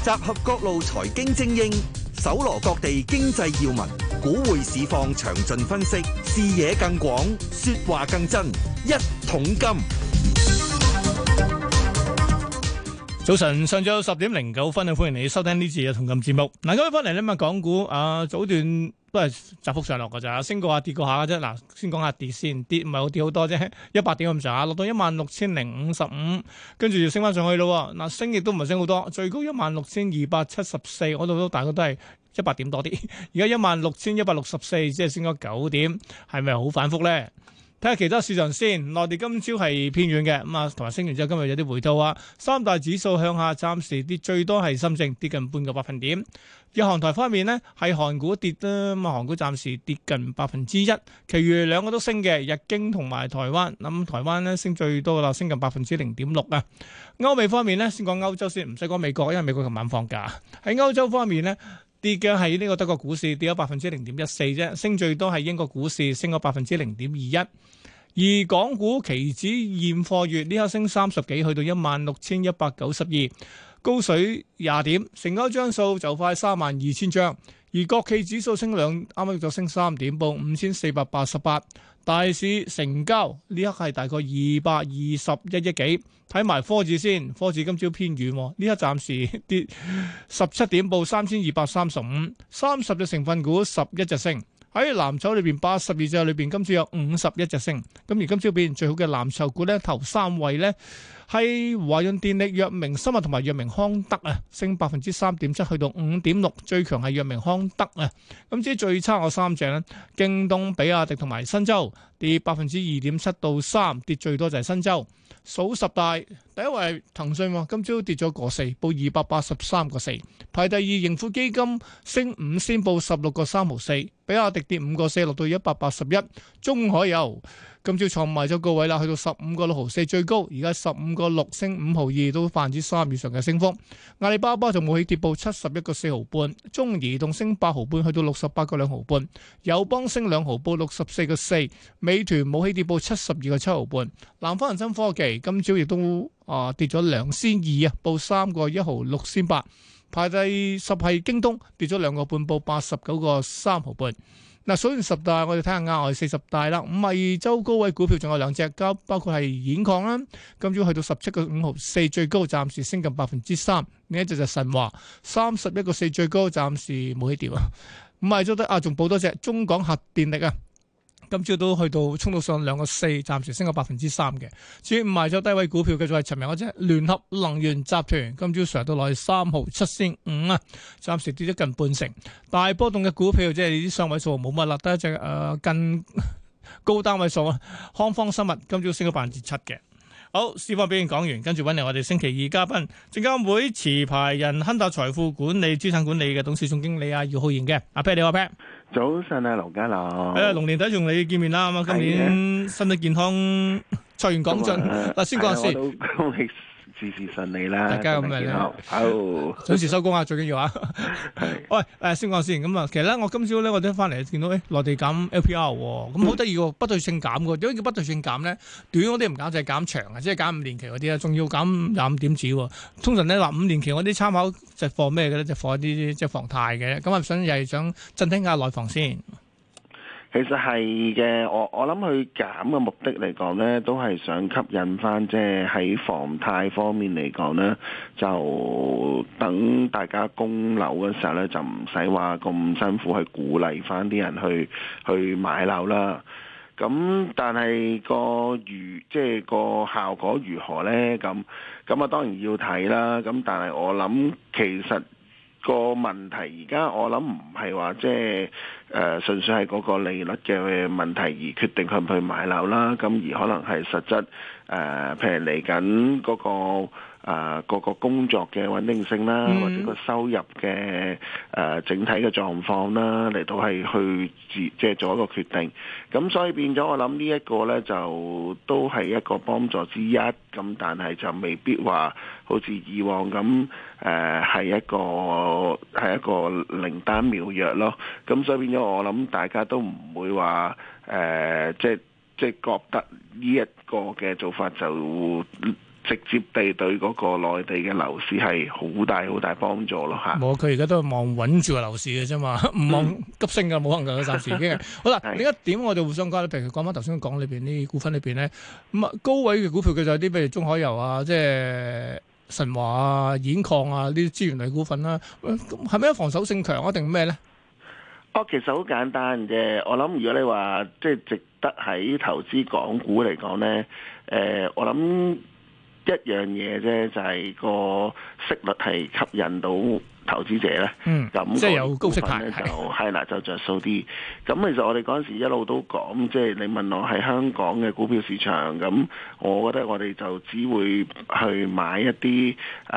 集合各路財經精英，搜羅各地經濟要聞，股匯市況詳盡分析，視野更廣，說話更真。一桶金。 早晨，上晝10:09，歡迎你收聽呢次嘅一桶金節目。嗱，今日翻嚟咧，港股早段都係窄幅上落㗎咋，升過下跌過下嘅啫。嗱，先講下跌先，跌唔係好跌好多啫，100點咁上下，落到16,055，跟住就升翻上去咯。嗱，升亦都唔係升好多，最高16,274，嗰度都大概都係100點多啲。而家16,164，即係升咗9點，係咪好反覆咧？睇下其他市場先，內地今朝係偏軟嘅，咁啊，同埋升完之後今日有啲回吐啊。三大指數向下，暫時跌最多係深證跌近半個百分點。日韓台方面呢，係韓股跌啦，咁啊韓股暫時跌近1%，其餘兩個都升嘅，日經同埋台灣。咁台灣呢升最多啦，升近0.6%啊。歐美方面呢，先講歐洲先，唔使講美國，因為美國琴晚放假。喺歐洲方面呢，跌嘅係呢個德國股市跌咗0.14%啫，升最多係英國股市升咗0.21%。而港股期指現貨月呢刻升30幾，去到16,192，高水20點，成交張數就快32,000張。而國企指數升啱啱就升3點，報5,488。大市成交呢刻係大概221億幾。睇埋科指先，科指今朝偏軟，呢刻暫時跌17點，報3,235。30隻成分股11隻升。喺藍籌裏邊82隻裏邊，今朝有51隻升。咁而今朝表現最好嘅藍籌股咧，頭3位咧係華潤電力、藥明生物同埋藥明康德啊，升3.7%去到5.6%。最強係藥明康德啊。咁至於最差嗰3隻咧，京東、比亞迪同埋新洲跌2.7%到3%，跌最多就係新洲。數十大第一位係騰訊，今朝跌咗個4，報283個4。排第二盈富基金升5仙，報16個3毫4。比亞迪跌5個4，落到181。中海油今朝創埋咗高位啦，去到15個6毫4最高，而家15個6升5毫2，都3%以上嘅升幅。阿里巴巴就冇起跌，報71個4毫半。中移動升8毫半，去到68個2毫半。友邦升2毫，報64個4。美團冇起跌，報72個7毫半。南方恒生科技今朝亦都跌咗2仙2啊，報3個1毫6仙8。排第10係京東，跌咗2個半，報89個3毫半。嗱，數完10大，我哋睇下額外40大啦。52周高位股票仲有2隻，包括係兗礦啦，今朝去到17個5毫4最高，暫時升近3%。另一隻就神華31個4最高，暫時冇起跌啊。52周得仲補多隻中港核電力啊。今朝都去到衝到上2個4，暫時升咗3%嘅。至於賣咗低位股票嘅就係尋日嗰隻聯合能源集團，今朝上到落去3毫7仙5啊，暫時跌咗近半成。大波動嘅股票即係啲雙位數冇乜啦，得一隻近高單位數啊，康方生物今朝升咗7%嘅。好，市況表現講完，跟住揾嚟我哋星期二嘉賓，證監會持牌人亨達財富管理資產管理嘅董事總經理姚浩然嘅。阿 Pat 你好，阿 Pat。 早晨啊，盧家樂。 龍年底同你見面啦，咁啊，今年身體健康，財源廣進。嗱，先講下先。 恭喜事事順利啦， 大家咁樣咧，好準時收工啊，最緊要啊。喂，先講先咁啊。其實咧，我今朝咧，我哋翻嚟見到內地減 LPR 喎，咁好得意喎，不對稱減嘅。點解叫不對稱減咧？短嗰啲唔減就係減長啊，即係減5年期嗰啲啊，仲要減25點子喎。通常咧話5年期嗰啲參考就放咩嘅咧？就放一啲即係房貸嘅。咁啊，又係想振興下內房先。 其實係嘅，我諗佢減嘅目的嚟講呢，都係想吸引翻，即係喺房貸方面嚟講呢，就等大家供樓嘅時候呢，就唔使話咁辛苦去鼓勵翻啲人去買樓啦。咁但係即係個效果如何呢？咁啊當然要睇啦。咁但係我諗其實個問題而家我諗唔係話即係純粹係嗰個利率嘅問題而決定去唔去買樓啦，咁而可能係實質譬如嚟緊嗰個工作嘅穩定性啦，或者個收入嘅整體嘅狀況啦，嚟到係去即係做一個決定。咁所以變咗我諗呢一個呢，就都係一個幫助之一，咁但係就未必話好似以往咁係一個靈丹妙藥咯。咁所以變咗我諗大家都唔會話即係覺得呢一個嘅做法就直接地對嗰個內地嘅樓市係好大幫助咯嚇。 冇，佢而家都係望穩住個樓市嘅啫嘛，唔望急升嘅，冇可能嘅，暫時已經係。好啦，另一點我哋互相講咧，譬如講翻頭先講裏邊啲股份裏邊咧，咁啊高位嘅股票佢就有啲譬如中海油啊，即係神華啊、兗礦啊呢啲資源類股份啦，咁係咪防守性強啊定咩咧？ 其實好簡單嘅，我諗如果你話即係值得喺投資港股嚟講咧，我諗一樣嘢啫，就係個息率係吸引到投資者咧，咁即係有高息派咧就係啦，就着數啲。咁其實我哋嗰陣時一路都講，即係你問我喺香港嘅股票市場，咁我覺得我哋就只會去買一啲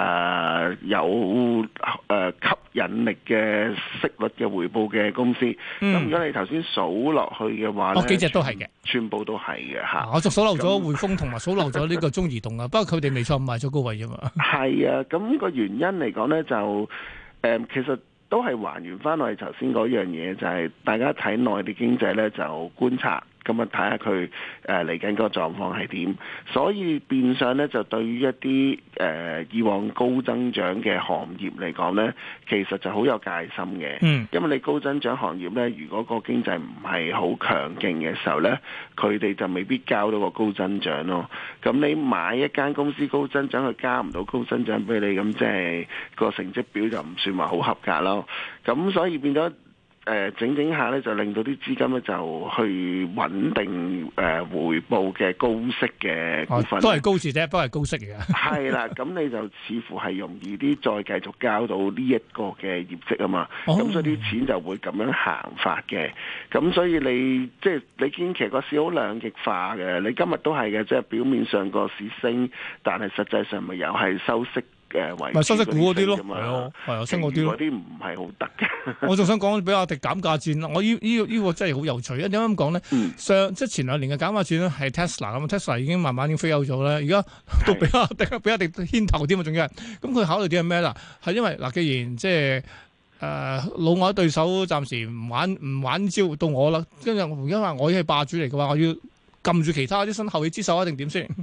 有吸引力嘅息率嘅回報嘅公司。咁如果你頭先數落去嘅話咧， 幾隻都係嘅， 全部都係嘅嚇。 我就數漏咗匯豐同埋數漏咗呢個中移動啊，不過佢哋未錯賣咗高位啫嘛。係啊，咁個原因嚟講咧就。其實都係還原翻我哋頭先嗰樣嘢，就係大家睇內地經濟咧，就觀察咁啊，睇下佢嚟緊個狀況係點。所以變相咧，就對於一啲以往高增長嘅行業嚟講咧，其實就好有戒心嘅。因為你高增長行業咧，如果個經濟唔係好強勁嘅時候咧，佢哋就未必交到個高增長咯。咁你買一間公司高增長，佢加唔到高增長俾你，咁即係個成績表就唔算話好合格咯。咁所以變咗整下咧，就令到啲資金咧就去穩定回報嘅高息嘅股份， 都係高字啫，不過係高息嘅。係啦，咁你就似乎係容易啲再繼續交到呢一個嘅業績啊嘛。咁所以啲錢就會咁樣行法嘅。咁所以你即係你見其實個市好兩極化嘅。你今日都係嘅，即係表面上個市升，但係實際上咪又係收息。咪收息股嗰啲咯，係啊，升嗰啲咯， 嗰啲唔係好得嘅。 我仲想講比亞迪減價戰啦，我呢個真係好有趣啊！點解咁講咧？即係前2年嘅減價戰咧係 Tesla 咁，Tesla 已經慢慢已經飛歐咗啦，而家到比亞迪牽頭添啊，仲要係咁佢考慮啲係咩啦？係因為嗱，既然即係老外對手暫時唔玩招到我啦，跟住因為我已經係霸主嚟嘅話，我要撳住其他啲新後起之秀一定點先？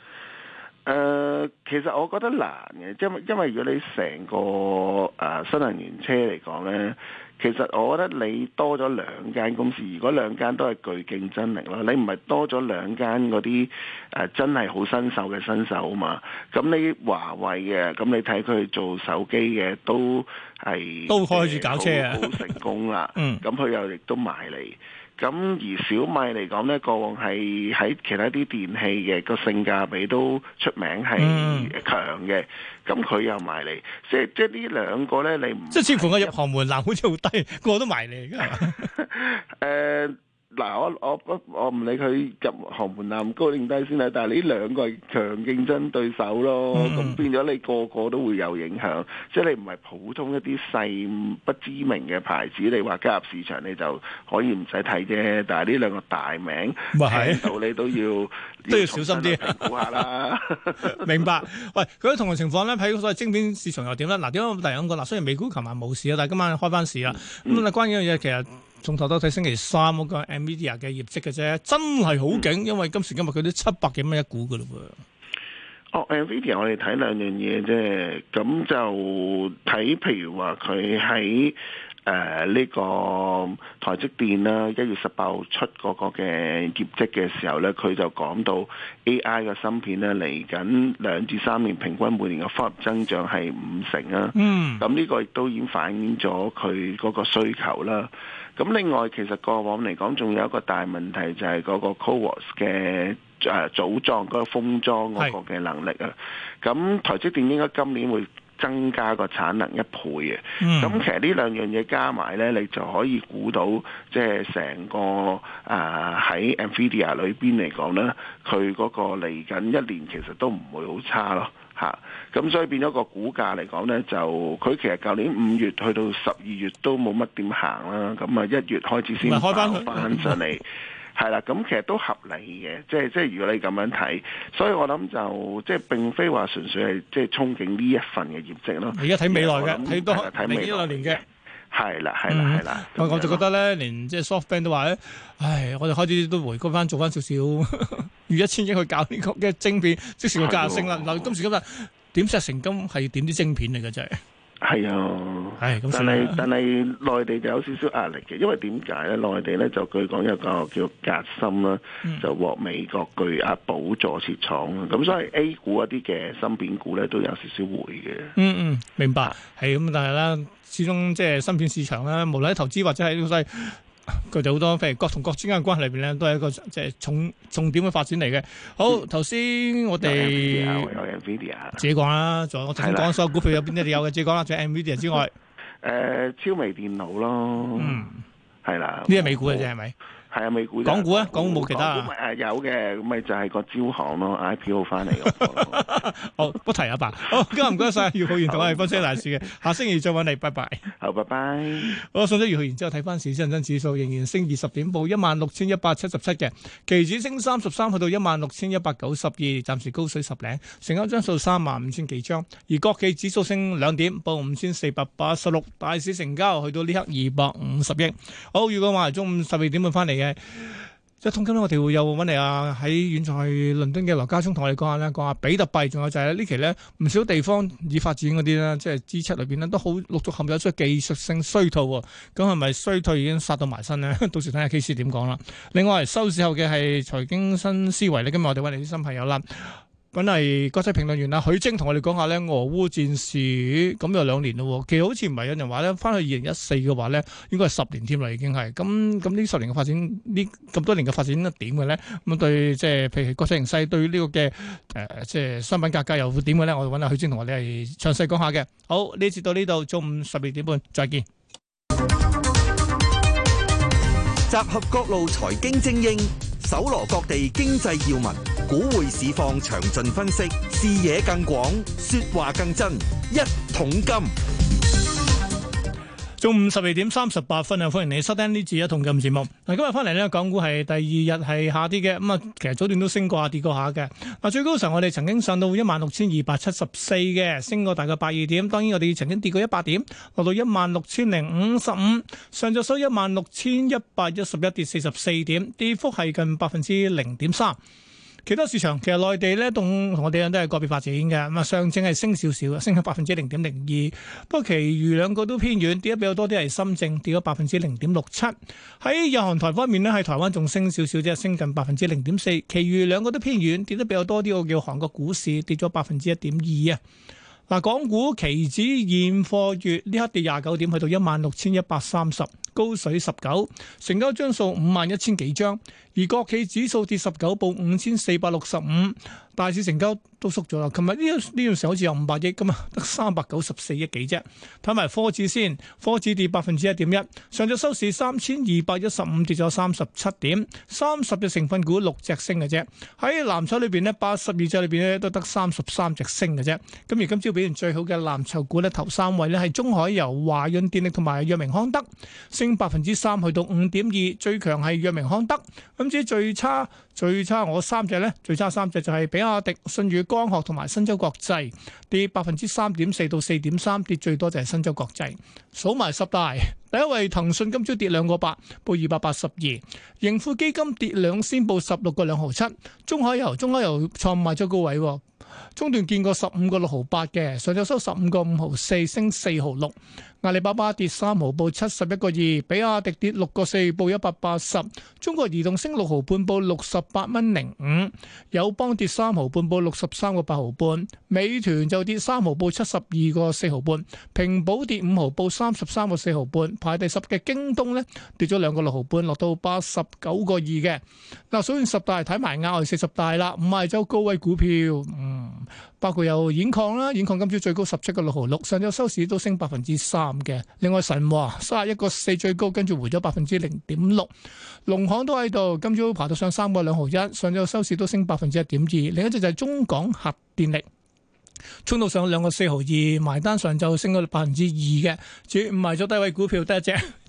其實我覺得難嘅，因為如果你成個新能源車嚟講咧，其實我覺得你多咗2間公司，如果2間都係具競爭力咯，你唔係多咗2間嗰啲真係好新手嘅新手啊嘛。咁你華為嘅，咁你睇佢做手機嘅都開始搞車啊，好成功啦。咁佢又亦都埋嚟。咁而小米嚟講咧，過往係喺其他啲電器嘅個性價比都出名係強嘅，咁佢又埋嚟，即係呢兩個咧，你唔即係似乎個入行門檻好似好低，個個都埋嚟㗎。 嗱，我唔理佢入行門檻高定低先啦，但係呢兩個係強競爭對手咯，咁變咗你個個都會有影響，即係你唔係普通一啲細不知名嘅牌子，你話加入市場你就可以唔使睇啫，但係呢兩個大名聽到你都要小心啲評估下啦。 明白。喂，佢同樣情況咧，喺所謂晶片市場又點咧？嗱，點解我突然咁講？嗱，雖然美股琴晚冇市啊，但係今晚開翻市啦。咁啊，關鍵嘅嘢其實。從頭到睇星期3嗰個 Nvidia 嘅業績嘅啫，真係好勁，因為今時今日佢都700幾蚊一股噶嘞喎。 Nvidia 我哋睇2樣嘢啫，咁就睇譬如話佢喺呢個台積電啦，1月18號出嗰個嘅業績嘅時候咧，佢就講到 AI 嘅芯片咧嚟緊2至3年平均每年嘅複合增長係50%啊。咁呢個亦都已經反映咗佢嗰個需求啦。咁另外其實過往嚟講，仲有一個大問題就係嗰個 CoWoS 嘅組裝嗰個封裝嗰個嘅能力啊。咁台積電應該今年會增加個產能1倍嘅。咁其實呢2樣嘢加埋咧，你就可以估到即係成個喺 Nvidia 裏邊嚟講咧，佢嗰個嚟緊1年其實都唔會好差咯。咁所以變咗個股價嚟講咧，就佢其實舊年5月去到12月都冇乜點行啦，咁啊1月開始先開翻上嚟，係啦，咁其實都合理嘅，即係如果你咁樣睇，所以我諗就即係並非話純粹係即係憧憬呢一份嘅業績咯。 而家睇未來嘅，睇未來年嘅。 係啦， 我就覺得咧，連即係 SoftBank 都話咧，唉，我哋開始都回歸翻做翻少少預1000億去搞呢個嘅晶片，即時個價升啦。嗱，今時今日點石成金係點啲晶片嚟嘅真係。 係啊，但係內地就有少少壓力嘅，因為點解咧？內地咧就據講有個叫革新啦，就獲美國巨額補助設廠啦，咁所以 A 股一啲嘅芯片股咧都有少少回嘅。 明白，係咁，但係咧，始終即係芯片市場咧，無論喺投資或者係呢個佢哋好多，譬如國同國之間嘅關係裏邊咧，都係一個即係重點嘅發展嚟嘅。好，頭先我哋有 Nvidia 自己講啦，仲有我頭先講所有股票有邊啲你有嘅，自己講啦。除咗 Nvidia 之外， 超微電腦咯，係啦， 呢係美股嘅啫，係咪？ 係啊，美股。港股啊，港股冇其他啊。 有嘅，咁咪就係個招行咯 ，IPO 翻嚟嗰好，不提啊吧。好，今日唔該晒，姚浩然同我哋分析大市嘅，下星期再揾你，拜拜。 好，拜拜。 好，送咗姚浩然之後，睇翻市，恒生指數仍然升20點，報16,177嘅，期指升33，去到16,192，暫時高水10零，成交張數35,000幾張，而國企指數升2點，報5,486，大市成交去到呢刻250億。好，預告話中午12點半翻嚟嘅。一通今日我哋會有揾嚟喺遠在倫敦嘅羅家聰同我哋講下比特幣，仲有就係呢期咧唔少地方已發展嗰啲咧，即係支出裏邊咧都好陸續陷入出技術性衰退，咁係咪衰退已經殺到埋身咧？到時睇下 KC 點講啦。另外收市後嘅係財經新思維咧，今日我哋揾嚟啲新朋友啦。揾嚟國際評論員許楨同我哋講下咧俄烏戰事，咁有2年咯。其實好似唔係有人話咧，翻去2014嘅話咧，應該係10年添啦，已經係。咁呢10年嘅發展，呢咁多年嘅發展點嘅咧？咁對即係譬如國際形勢對呢個嘅即係商品價格又會點嘅咧？我哋揾許楨同我哋係詳細講下嘅。好，呢節到呢度，中午12點半再見。 集合各路財經精英，搜羅各地經濟要聞，股匯市況詳盡分析，視野更廣，說話更真。一桶金， 中午12點38分啊！歡迎你收聽呢次一桶金節目。嗱，今日翻嚟呢，港股係第2日係下跌嘅，咁啊，其實早段都升過下跌過下嘅。嗱，最高嘅時候我哋曾經上到16,274嘅，升過大概82點。當然我哋曾經跌過100點，落到16,055，上晝收16,111，跌44點，跌幅係近0.3%。其他市場其實內地咧同我哋都係個別發展嘅，咁啊上證係升少少，升咗0.02%，不過其餘兩個都偏軟，跌得比較多啲係深證，跌咗0.67%。喺日韓台方面呢，喺台灣仲升少少啫，升近0.4%，其餘兩個都偏軟，跌得比較多啲，我叫韓國股市跌咗1.2%啊。嗱，港股期指現貨月呢刻跌29點，去到16,130，高水19，成交張數51,000幾張，而國企指數跌19，報5,465，大市成交都縮咗啦。琴日呢段時候好似有500億咁啊，得394億幾啫。睇埋科指先，科指跌1.1%，上晝收市3,215，跌咗37點，30隻成分股6隻升嘅啫。喺藍籌裏邊呢，82隻裏邊咧都得33隻升嘅啫。咁而今朝表現最好嘅藍籌股咧，頭3位呢係中海油、華潤電力同埋藥明康德，升3%去到5.2，最強係藥明康德。咁至於最差我3隻呢，最差3隻就係比亞迪、舜宇光學同埋新洲國際，跌3.4%到4.3%，跌最多就係新洲國際。數埋10大，第一位騰訊今朝跌2個8，報282；盈富基金跌2仙，報16個2毫7；中海油創賣咗高位，中段見過15個6毫8嘅，上晝收15個5毫4，升4毫6。阿里巴巴跌3毫，報71個2；比亞迪跌6個4，報180；中國移動升6毫半，報68.05；友邦跌3毫半，報63個8毫半；美團就跌3毫，報72個4毫半；平保跌5毫，報33個4毫半；排第10嘅京東呢，跌咗2個6毫半，落到89個2嘅。嗱，數完10大，睇埋額外40大啦，五十周高位股票，包括有兗礦啦，兗礦今朝最高17個6毫6，上晝收市都升3%嘅。另外神華31個4最高，跟住回咗0.6%。農行都喺度，今朝爬到上3個2毫1，上晝收市都升1.2%。另一隻就係中港核電力，衝到上2個4毫2，埋單上晝升咗2%嘅。至於唔係咗低位股票得一隻，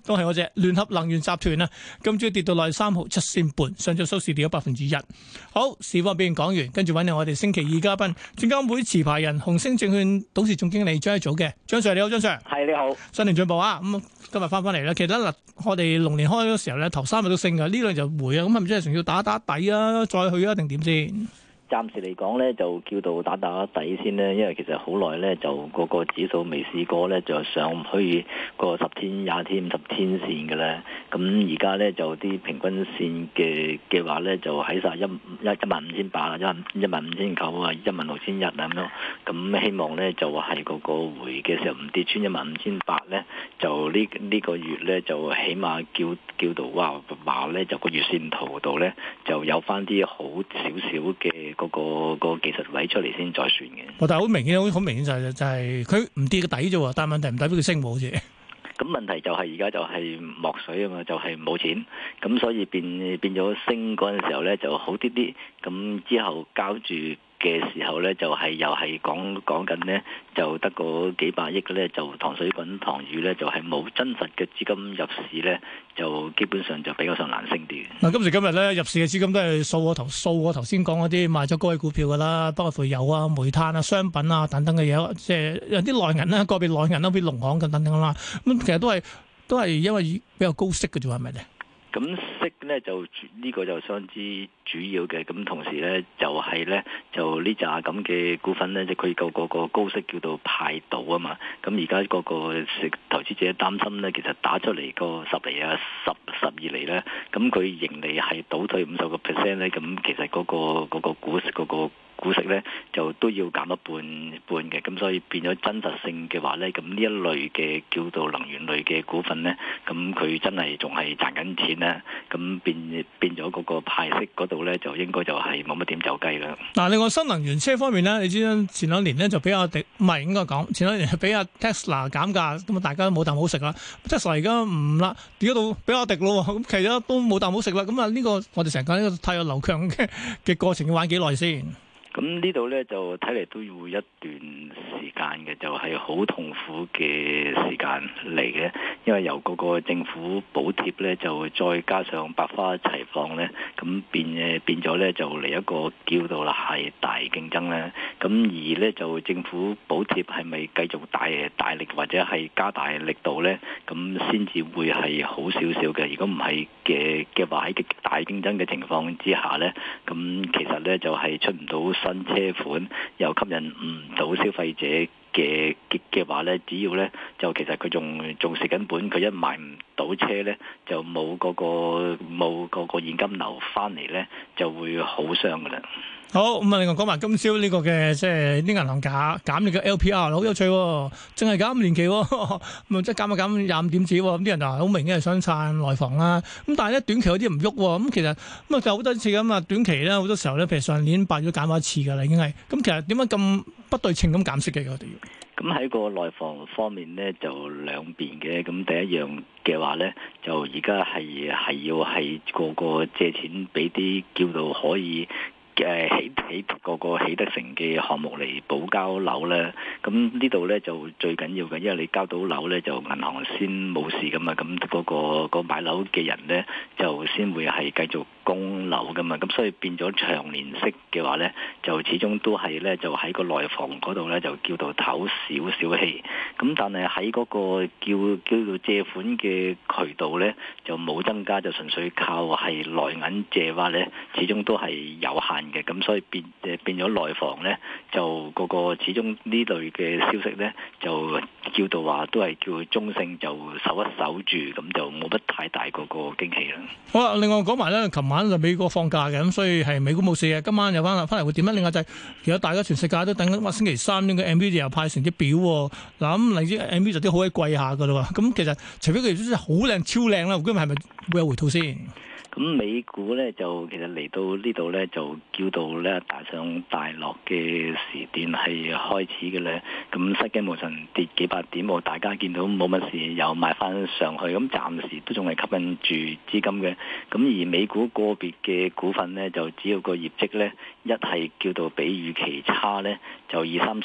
都係嗰隻聯合能源集團啊，今朝跌到落去3毫7仙半，上晝收市跌咗1%。好，市況表現講完，跟住揾嚟我哋星期二嘉賓，證監會持牌人、紅星證券董事總經理張一祖嘅張 Sir，你好，張 Sir。 係，你好， 新年進步啊！咁今日翻嚟啦，其實嗱，我哋龍年開嗰時候咧，頭3日都升㗎，呢輪就回啊，咁係咪真係仲要打底啊，再去啊，定點先？ 暫時嚟講咧，就叫到打底先咧，因為其實好耐咧，就個指數未試過咧，就上唔去個10天、20天、50天線嘅咧。咁而家咧就啲平均線嘅話咧，就喺晒15800啊、15900啊、16000啊咁咯。咁希望咧就係個回嘅時候唔跌穿15800咧，就呢個月咧就起碼叫到話咧就個月線圖度咧就有翻啲好少少嘅。個技術位出嚟先再算嘅。但係好明顯，好明顯就係佢唔跌個底啫喎，但係問題唔代表佢升冇好似。 咁問題就係而家就係莫水啊嘛，就係冇錢，咁所以變咗升嗰陣時候咧就好啲啲，咁之後交住嘅時候咧就係又係講緊咧就得個幾百億嘅咧就糖水滾糖魚咧就係冇真實嘅資金入市咧就基本上就比較上難升啲。 嗱，今時今日咧入市嘅資金都係掃我頭先講嗰啲賣咗高位股票噶啦，包括油啊、煤炭啊、商品啊等等嘅嘢，即係有啲內銀啦，個別內銀啦，譬如農行咁等等啦，咁其實都係因為比較高息嘅啫，係咪咧？ 咁息咧就呢個就相當之主要嘅，咁同時咧就係咧就呢扎咁嘅股份咧，即佢個高息叫做派到啊嘛。咁而家個投資者擔心咧，其實打出嚟個10厘啊、12厘咧，咁佢盈利係倒退50%咧，咁其實嗰個股息股息咧就都要減一半嘅，咁所以變咗真實性嘅話咧，咁呢一類嘅叫做能源類嘅股份咧，咁佢真係仲係賺緊錢咧，咁變咗嗰個派息嗰度咧，就應該就係冇乜點走雞啦。嗱， 另外新能源車方面咧，你知啦，前兩年咧就比亞迪唔係應該講，前兩年係比亞 Tesla 減價，咁啊大家都冇啖好食啦。Tesla 而家唔啦，跌咗到比亞迪咯，咁其實都冇啖好食啦。咁啊呢個我哋成日講呢個太陽流強嘅過程要玩幾耐先？ 咁呢度咧就睇嚟都要一段時間嘅，就係好痛苦嘅時間嚟嘅，因為由嗰個政府補貼咧，就再加上百花齊放咧，咁變咗咧就嚟一個叫到啦係大競爭咧。咁而咧就政府補貼係咪繼續大力或者係加大力度咧？咁先至會係好少少嘅。如果唔係嘅話，喺極大競爭嘅情況之下咧，咁其實咧就係出唔到新車款，又吸引唔到消費者嘅話咧，只要咧就其實佢仲蝕緊本，佢一賣唔到車咧，就冇嗰個現金流翻嚟咧，就會好傷噶啦。 好，咁啊，另外講埋今朝呢個嘅即係啲銀行減你嘅 LPR，好有趣喎，淨係減5年期喎，咁即係減25點子喎，咁啲人就好明顯係想撐內房啦。咁但係咧短期有啲唔喐喎，咁其實咁啊就好多次咁啊，短期咧好多時候咧，譬如上年8月減過一次㗎啦，已經係。咁其實點解咁不對稱咁減息嘅我哋要？ 咁喺個內房方面咧，就兩邊嘅。咁第一樣嘅話咧，就而家係要係個借錢俾啲叫做可以起個起得成嘅項目嚟補交樓咧，咁呢度咧就最緊要嘅，因為你交到樓咧，就銀行先冇事噶嘛，咁嗰個買樓嘅人咧就先會係繼續供樓噶嘛，咁所以變咗長年息嘅話咧，就始終都係咧就喺個內房嗰度咧就叫做唞少少氣，咁但係喺嗰個叫做借款嘅渠道咧就冇增加，就純粹靠係內銀借話咧，始終都係有限嘅，咁所以變咗內房咧，就個始終呢類嘅消息咧，就叫到話都係叫中性，就守一守住，咁就冇乜太大嗰個驚喜啦。 好啦，另外講埋咧，琴晚就美國放假嘅，咁所以係美股冇事嘅。今晚又翻嚟會點咧？另外就係其實大家全世界都等緊，星期三呢個 NVIDIA 又派成績表喎。嗱咁，例如 NVIDIA 啲好鬼貴下噶啦喎。咁其實除非佢真係好靚超靚啦，今日係咪會有回吐先？ 咁美股咧就其實嚟到呢度咧就叫到咧大上大落嘅時段係開始嘅咧，咁失驚無神跌幾百點，大家見到冇乜事又買翻上去，咁暫時都仲係吸引住資金嘅。咁而美股個別嘅股份咧就只要個業績咧一係叫到比預期差咧，就20-30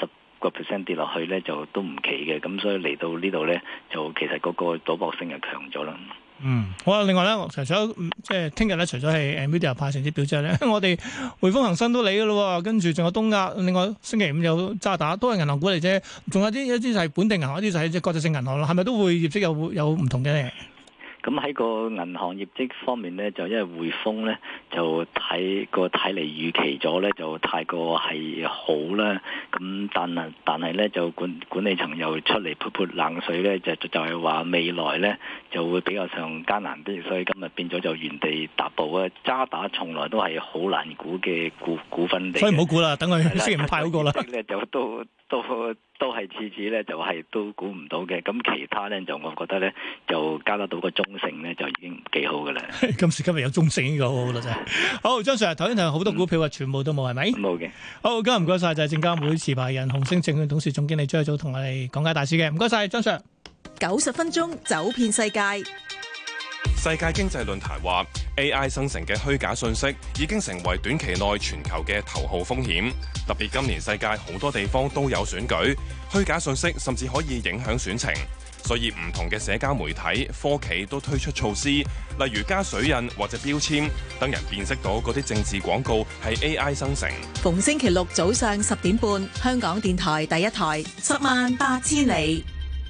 10% 跌落去咧，就都唔奇嘅。咁所以嚟到呢度咧，就其實嗰個賭博性係強咗啦。 好啊！另外咧，除咗即係聽日咧，除咗係Nvidia派成績表之外咧，我哋匯豐恒生都嚟嘅咯，跟住仲有東亞，另外星期五有渣打，都係銀行股嚟啫。仲有一啲就係本地銀行，一啲就係即係國際性銀行咯。係咪都會業績有唔同嘅咧？ 咁喺個銀行業績方面咧，就因為匯豐咧就睇嚟預期咗咧，就太過係好啦。咁但係咧就管理層又出嚟潑冷水咧，就係話未來咧就會比較上艱難啲，所以今日變咗就原地踏步啊！渣打從來都係好難估嘅股份嚟， 所以唔好估啦，等佢星期五派好過啦。 咧就都係次次咧就係都估唔到嘅，咁其他咧就我覺得咧就加得到個中性咧就已經幾好嘅啦。今時今日有中性呢個好啦真係。好，張 Sir 頭先睇好多股票啊，全部都冇係咪？ 冇嘅。 好，今日唔該晒，就係證監會持牌人紅星證券董事總經理張益祖同我哋講解大市嘅，唔該晒張 Sir。 90分鐘走遍世界。 世界經濟論壇話 AI 生成嘅虛假信息已經成為短期內全球嘅頭號風險，特別今年世界好多地方都有選舉，虛假信息甚至可以影響選情，所以唔同嘅社交媒體、科企都推出措施，例如加水印或者標籤，等人辨識到嗰啲政治廣告係 AI 生成。 逢星期六早上10點半，香港電台第一台，108000里。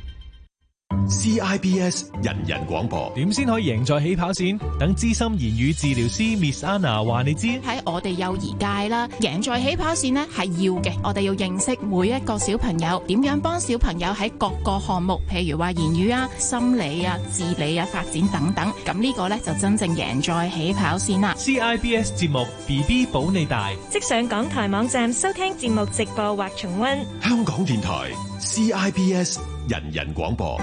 CIBS 人人廣播， 點先可以贏在起跑線？等資深言語治療師 Miss Anna 話你知。 喺我哋幼兒界啦，贏在起跑線呢係要嘅。我哋要認識每一個小朋友，點樣幫小朋友喺各個項目，譬如話言語啊、心理啊、自理啊發展等等。咁呢個呢就真正贏在起跑線啦。 CIBS 節目 BB 保你大， 即上港台網站收聽節目直播或重溫。 香港電台 CIBS 人人廣播。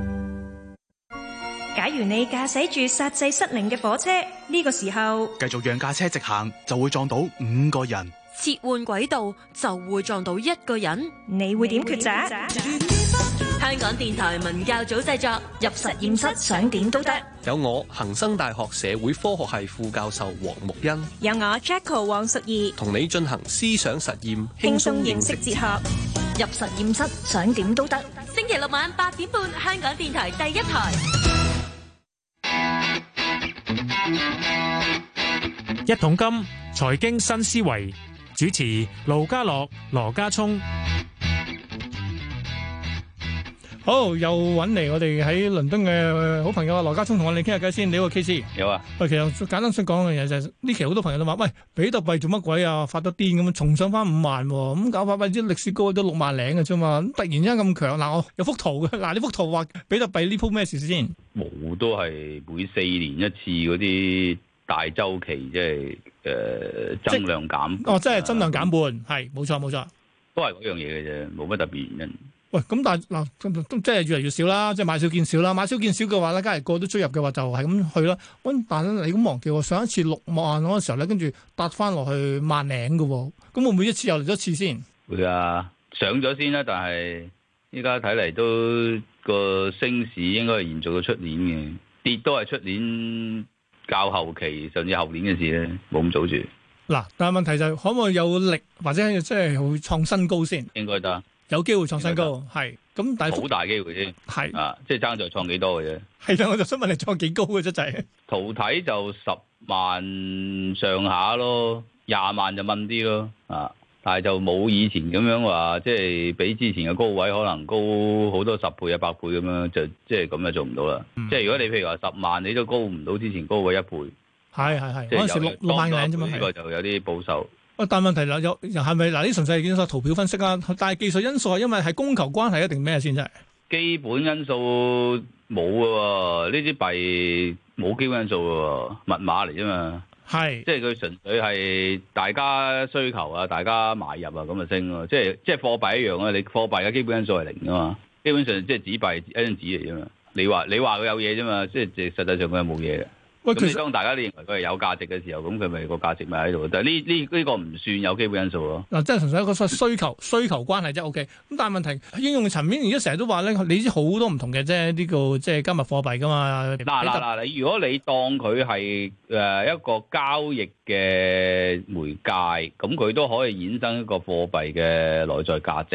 假如你駕駛住煞掣失靈嘅火車，呢個時候繼續讓架車直行，就會撞到5個人； 切換軌道就會撞到1個人。 你會點抉擇？ 香港電台文教組製作，入實驗室想點都得。 有我恒生大學社會科學系副教授黃木欣， 有我 Jacko 黃淑儀，同你進行思想實驗， 輕鬆認識哲學。 入實驗室想點都得。星期六晚8點半，香港電台第一台。 一桶金財經新思維，主持盧家樂、羅家聰。 好，又揾嚟我哋喺倫敦嘅好朋友啊，羅家聰同我哋傾下偈先。你好 KC。 有啊。 喂，其實簡單想講嘅嘢就係呢期好多朋友都話，喂，比特幣做乜鬼啊？發得癲咁，重上翻5萬，咁搞法或者歷史高都6萬零嘅啫嘛。突然之間咁強，嗱我有幅圖嘅，嗱呢幅圖話比特幣呢鋪咩事先？ 冇，都係每4年一次嗰啲大週期，即係增量減。 哦，即係增量減半，係冇錯冇錯。 都係嗰樣嘢嘅啫，冇乜特別原因。 喂，咁但係嗱，即係越嚟越少啦，即係買少見少啦。買少見少嘅話咧，假如個個都追入嘅話，就係咁去啦。但係你咁忘記喎，上一次6萬嗰個時候咧，跟住搭翻落去1萬零嘅喎。咁會唔會一次又嚟咗一次先？ 會啊，上咗先啦，但係依家睇嚟都個升市應該係延續到出年嘅，跌都係出年較後期甚至後年嘅事咧，冇咁早住。嗱， 但係問題就係可唔可以有力或者即係會創新高先？ 應該得。有機會創新高，係咁，但係好大機會先， 係啊，即係爭在創幾多嘅啫。 係啦，我就想問你創幾高嘅啫，就係圖睇就10萬上下咯，20萬就問啲咯，啊，但係就冇以前咁樣話，即係比之前嘅高位可能高好多10倍、100倍咁樣，就即係咁就做唔到啦。即係如果你譬如話10萬，你都高唔到之前高位1倍。 係，嗰陣時6萬零啫嘛。 呢個就有啲保守。 但係問題啦，又係咪嗱？呢純粹係見圖表分析啊，但係技術因素係因為係供求關係一定咩先真係？ 基本因素冇嘅喎，呢啲幣冇基本因素嘅喎，密碼嚟啫嘛。係，即係佢純粹係大家需求啊，大家買入啊，咁就升咯。即係貨幣一樣啊，你貨幣嘅基本因素係零㗎嘛，基本上即係紙幣一張紙嚟啫嘛。你話佢有嘢啫嘛，即係實際上佢係冇嘢嘅。咁當大家都認為佢係有價值嘅時候，咁佢咪個價值咪喺度？但係呢個唔算有基本因素咯。嗱， 即係純粹一個需求關係啫。OK。咁但係問題應用嘅層面，而家成日都話咧，你知好多唔同嘅啫，呢個即係加密貨幣噶嘛。 嗱，你如果你當佢係一個交易嘅媒介，咁佢都可以衍生一個貨幣嘅內在價值。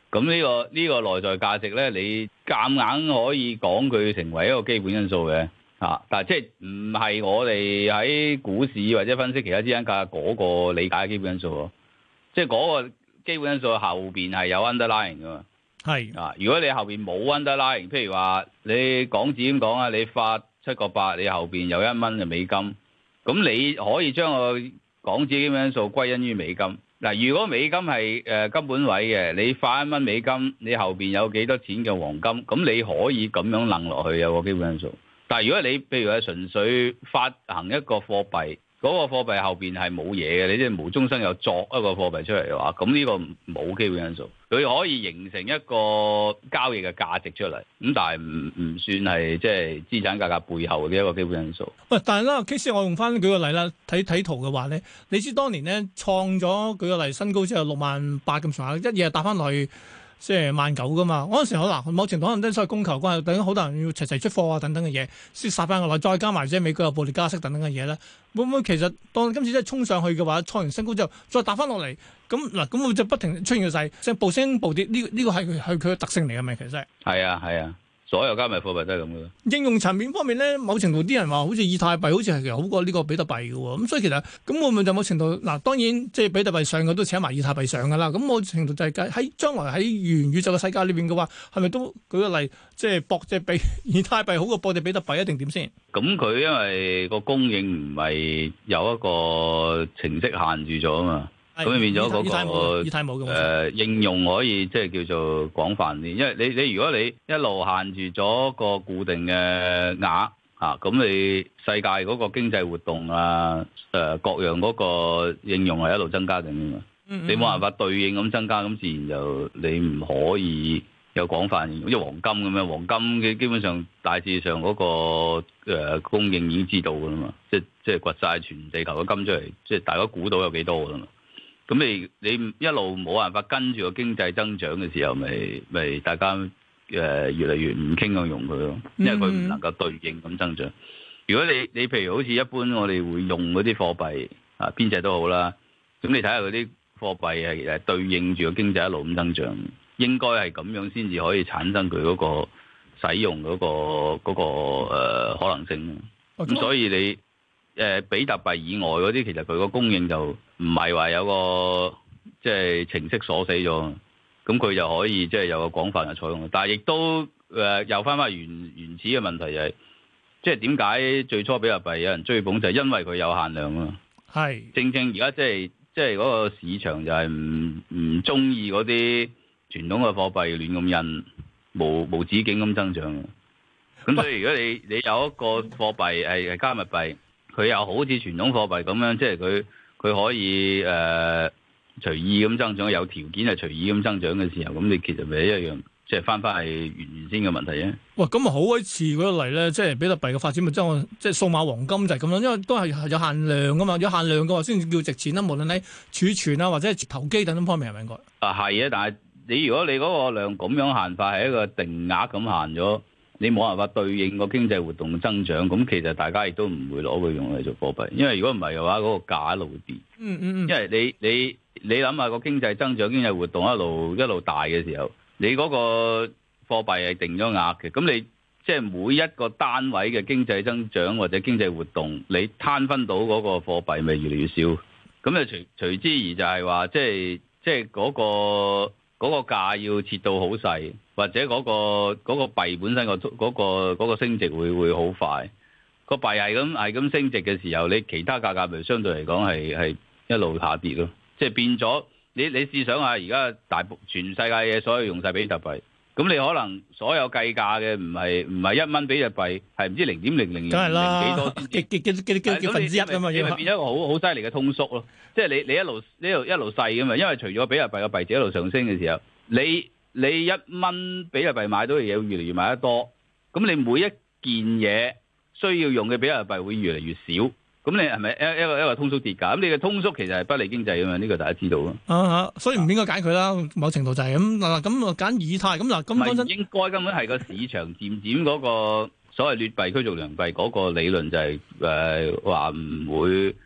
咁呢個內在價值咧，你夾硬可以講佢成為一個基本因素嘅但係即係唔係我哋喺股市或者分析其他資產價嗰個理解嘅基本因素喎，即係嗰個基本因素後邊係有 underlying 㗎嘛。係如果你後邊冇 underlying， 譬如話你港紙咁講啊，你發7個8，你後邊有1蚊嘅美金，咁你可以將個港紙基本因素歸因於美金。嗱，如果美金係金本位嘅，你發1蚊美金，你後邊有幾多錢嘅黃金，咁你可以咁樣諗落去有個基本因素。但係如果你譬如係純粹發行一個貨幣，嗰個貨幣後邊係冇嘢嘅，你即係無中生有作一個貨幣出嚟嘅話，咁呢個冇基本因素，佢可以形成一個交易嘅價值出嚟，咁但係唔算係即係資產價格背後嘅一個基本因素。 喂，但係啦，Case 我用翻舉個例啦，睇圖嘅話咧，你知當年咧創咗舉個例新高之後68000咁上下，一夜打翻落去。即係19000噶嘛，嗰陣時可能某程度可能都所謂供求關係，等於好多人要齊齊出貨啊等等嘅嘢，先殺翻落來，再加埋即係美國有暴力加息等等嘅嘢咧，會唔會其實當今次真係衝上去嘅話，創完新高之後再打翻落嚟，咁會就不停出現嘅勢，即係暴升暴跌，呢個係佢嘅特性嚟嘅咪其實係啊。所有加密貨幣都係咁嘅。應用層面方面咧，某程度啲人話好似以太幣好似係其實好過呢個比特幣嘅喎，咁所以其實咁會唔會就某程度當然即係比特幣上嘅都請埋以太幣上㗎啦。咁某程度就係喺將來喺元宇宙嘅世界裏邊嘅話，係咪都舉個例，即係博即係比以太幣好過博隻比特幣一定點先？咁佢因為個供應唔係有一個程式限住咗啊嘛。咁變咗嗰個應用可以即係叫做廣泛啲，因為你如果你一路限住咗個固定嘅額咁你世界嗰個經濟活動各樣嗰個應用係一路增加緊嘅嘛，你冇辦法對應咁增加，咁自然就你唔可以有廣泛應用，好似黃金咁樣，黃金嘅基本上大致上嗰個供應已經知道㗎啦嘛，即係掘晒全地球嘅金出嚟，即係大家估到有幾多㗎啦嘛。咁你一路冇辦法跟住個經濟增長嘅時候，咪大家越嚟越唔傾向用佢咯，因為佢唔能夠對應咁增長。如果你譬如好似一般我哋會用嗰啲貨幣邊隻都好啦，咁你睇下嗰啲貨幣係對應住個經濟一路咁增長，應該係咁樣先至可以產生佢嗰個使用嗰個可能性。咁所以你比特幣以外嗰啲，其實佢個供應就唔係話有個即係程式鎖死咗，咁佢就可以即係有個廣泛嘅採用。但係亦都又翻返原始嘅問題就係，即係點解最初比特幣有人追捧就係因為佢有限量啊。係正正而家即係嗰個市場就係唔中意嗰啲傳統嘅貨幣亂咁印，無止境咁增長。咁所以如果你有一個貨幣係加密幣，佢又好似傳統貨幣咁樣，即係佢可以隨意咁增長，有條件係隨意咁增長嘅時候，咁你其實咪一樣，即係翻係原先嘅問題啫。喂，咁啊好鬼似嗰個例咧，即係比特幣嘅發展咪即係數碼黃金就係咁樣，因為都係有限量噶嘛，有限量嘅話先至叫值錢啦。無論你儲存啊或者係投機等等方面係咪應該？係啊，但係你如果你嗰個量咁樣限法係一個定額咁限咗。你冇辦法對應個經濟活動嘅增長，咁其實大家亦都唔會攞佢用嚟做貨幣，因為如果唔係嘅話，嗰個價一路會跌。因為你諗下個經濟增長、經濟活動一路大嘅時候，你嗰個貨幣係定咗額嘅，咁你即係每一個單位嘅經濟增長或者經濟活動，你攤分到嗰個貨幣咪越嚟越少。咁就隨之而就係話，即係嗰個價要切到好細，或者嗰個幣本身嗰個升值會好快。個幣係咁升值嘅時候，你其他價格咪相對嚟講係一路下跌咯。即係變咗，你試想下，而家全世界嘅所有用晒比特幣，咁你可能所有計價嘅唔係1蚊比特幣，係唔知0.0000幾多幾分之一啊嘛，你咪變咗一個好犀利嘅通縮咯。即係你一路細噶嘛，因為除咗比特幣嘅幣值一路上升嘅時候，你1蚊比特幣買到嘅嘢越嚟越買得多，咁你每一件嘢需要用嘅比特幣會越嚟越少，咁你係咪一個通縮跌價？咁你嘅通縮其實係不利經濟噶嘛？呢個大家知道咯。所以唔應該揀佢啦，某程度就係咁嗱。咁揀以太咁嗱，咁講真應該根本係個市場漸漸嗰個所謂劣幣驅逐良幣嗰個理論就係話唔會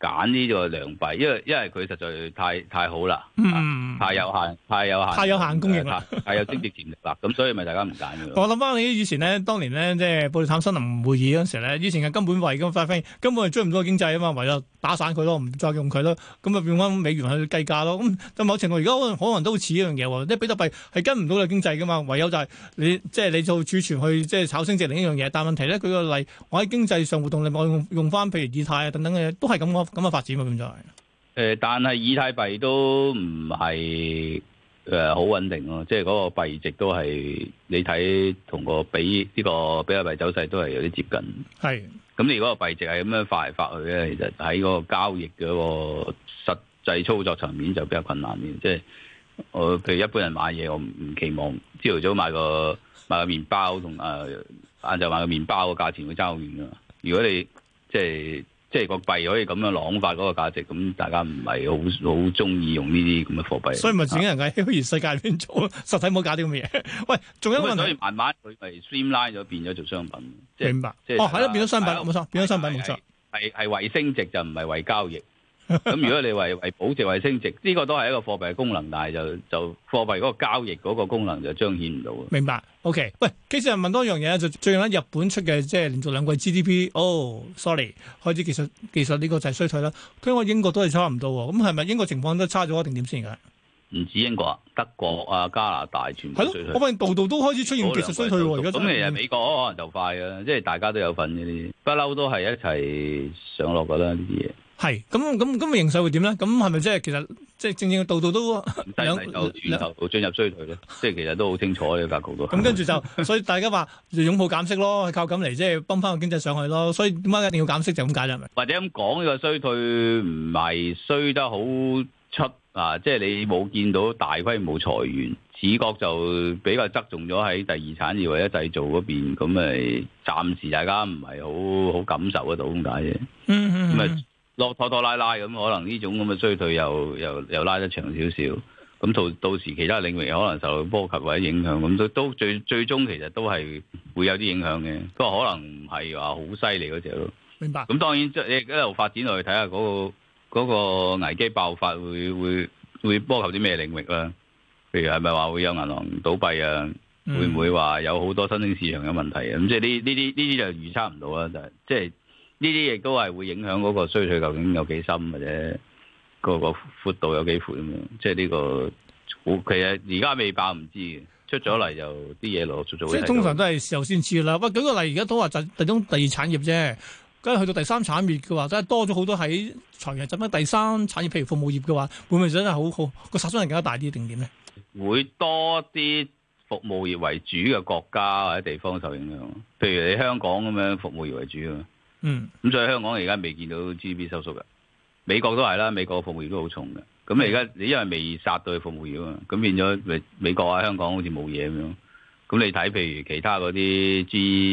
揀呢個良幣，因為佢實在太好啦，太有限供應啦，太有增值潛力啦，咁所以咪大家唔揀嘅。 我諗翻你以前咧，當年咧即係布里坦森林會議嗰陣時咧，以前係根本為咁發揮，根本係追唔到經濟啊嘛，唯有打散佢咯，唔再用佢咯，咁啊變翻美元去計價咯。咁就某程度而家可能都似一樣嘢喎，即係比特幣係跟唔到個經濟噶嘛，唯有就係你做儲存去即係炒升值另一樣嘢。但問題咧，舉個例，我喺經濟上活動，我用翻譬如以太啊等等嘅嘢，都係咁嘅發展喎，咁就係。 但係以太幣都唔係好穩定咯，即係嗰個幣值都係你睇同個比特幣走勢都係有啲接近。係。咁你嗰個幣值係咁樣發嚟發去咧，其實喺嗰個交易嘅個實際操作層面就比較困難啲。即係我譬如一般人買嘢，我唔期望朝頭早買個麵包同晏晝買個麵包個價錢會爭好遠噶嘛。如果你即係個幣可以咁樣朗化嗰個價值，咁大家唔係好中意用呢啲咁嘅貨幣。所以咪自己人喺虛擬世界裏邊做，實體冇搞啲咁嘅嘢。喂，仲有一個問題，所以慢慢佢咪 streamline 咗，變咗做商品。明白。係咯，變咗商品，冇錯，變咗商品冇錯。係為升值就唔係為交易。咁如果你為保值為升值，呢個都係一個貨幣嘅功能，但係就貨幣嗰個交易嗰個功能就彰顯唔到。明白。OK， 喂，其實問多一樣嘢就最近日本出嘅即係連續兩季 GDP， sorry， 開始技術呢個就係衰退啦。聽講英國都係差唔多喎，咁係咪英國情況都差咗定點先㗎？唔止英國啊，德國啊、加拿大全部衰退。係咯，我發現度都開始出現技術衰退喎。而家咁其實美國可能就快嘅，即係大家都有份呢啲，不嬲都係一齊上落㗎啦呢啲嘢。係咁形勢會點咧？咁係咪即係其實即係正度都兩源頭進入衰退咧？即係其實都好清楚呢個格局都。咁跟住就，所以大家話擁抱減息咯，靠咁嚟即係泵翻個經濟上去咯。所以點解一定要減息就咁解啦？係咪？或者咁講，呢個衰退唔係衰得好出啊！即係你冇見到大規模裁員，視覺就比較側重咗喺第二產業或者製造嗰邊。咁咪暫時大家唔係好感受得到咁解啫。咁咪。拖拉咁，可能呢種咁嘅衰退又拉得長少少，咁到時其他領域可能受到波及或者影響，咁都最終其實都係會有啲影響嘅，不過可能唔係話好犀利嗰隻咯。明白。咁當然即係一路發展落去睇下嗰個危機爆發會波及啲咩領域啦？譬如係咪話會有銀行倒閉啊？會唔會話有好多新興市場嘅問題啊？咁即係呢啲就預測唔到啦，即係。呢啲亦都係會影響嗰個衰退究竟有幾深，或者個闊度有幾闊咁樣。即係呢個其實而家未爆唔知嘅，出咗嚟就啲嘢陸陸續續。即係通常都係時候先知啦。喂，舉個例，而家都話就第二產業啫，梗係去到第三產業嘅話，真係多咗好多喺財源集翻第三產業，譬如服務業嘅話，會唔會真係好個殺傷力更加大啲定點咧？會多啲服務業為主嘅國家或者地方受影響，譬如你香港咁樣服務業為主啊。咁所以香港而家未見到 GDP 收縮嘅，美國都係啦，美國服務業都好重嘅。咁你而家你因為未殺到去服務業啊嘛，咁變咗美國啊香港好似冇嘢咁樣。咁你睇譬如其他嗰啲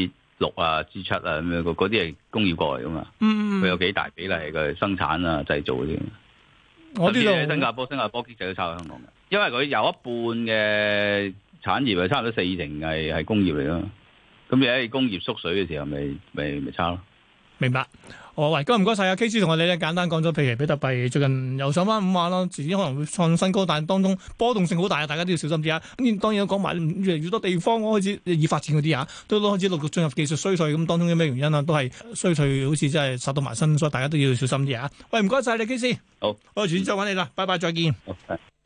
G6 啊 G7 啊咁樣，嗰啲係工業國嚟噶嘛，佢有幾大比例嘅生產啊製造嗰啲。我知道新加坡經濟都差過香港嘅，因為佢有一半嘅產業係差唔多40%係工業嚟咯。咁你喺工業縮水嘅時候，咪差咯。明白，喂，今日唔該晒阿 KC 同我哋咧簡單講咗，譬如比特幣最近又上翻5萬咯，遲啲可能會創新高，但係當中波動性好大啊，大家都要小心啲啊。咁當然都講埋越嚟越多地方開始已發展嗰啲啊，都開始陸續進入技術衰退，咁當中有咩原因啊？都係衰退好似真係殺到埋身，所以大家都要小心啲啊。喂，唔該晒你 KC，好，我遲啲再揾你啦，拜拜，再見。